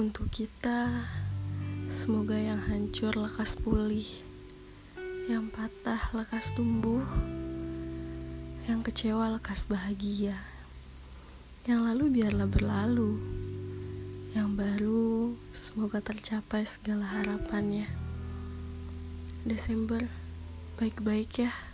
Untuk kita, semoga yang hancur lekas pulih, yang patah lekas tumbuh, yang kecewa lekas bahagia. Yang lalu biarlah berlalu, yang baru semoga tercapai segala harapannya. Desember, baik-baik ya.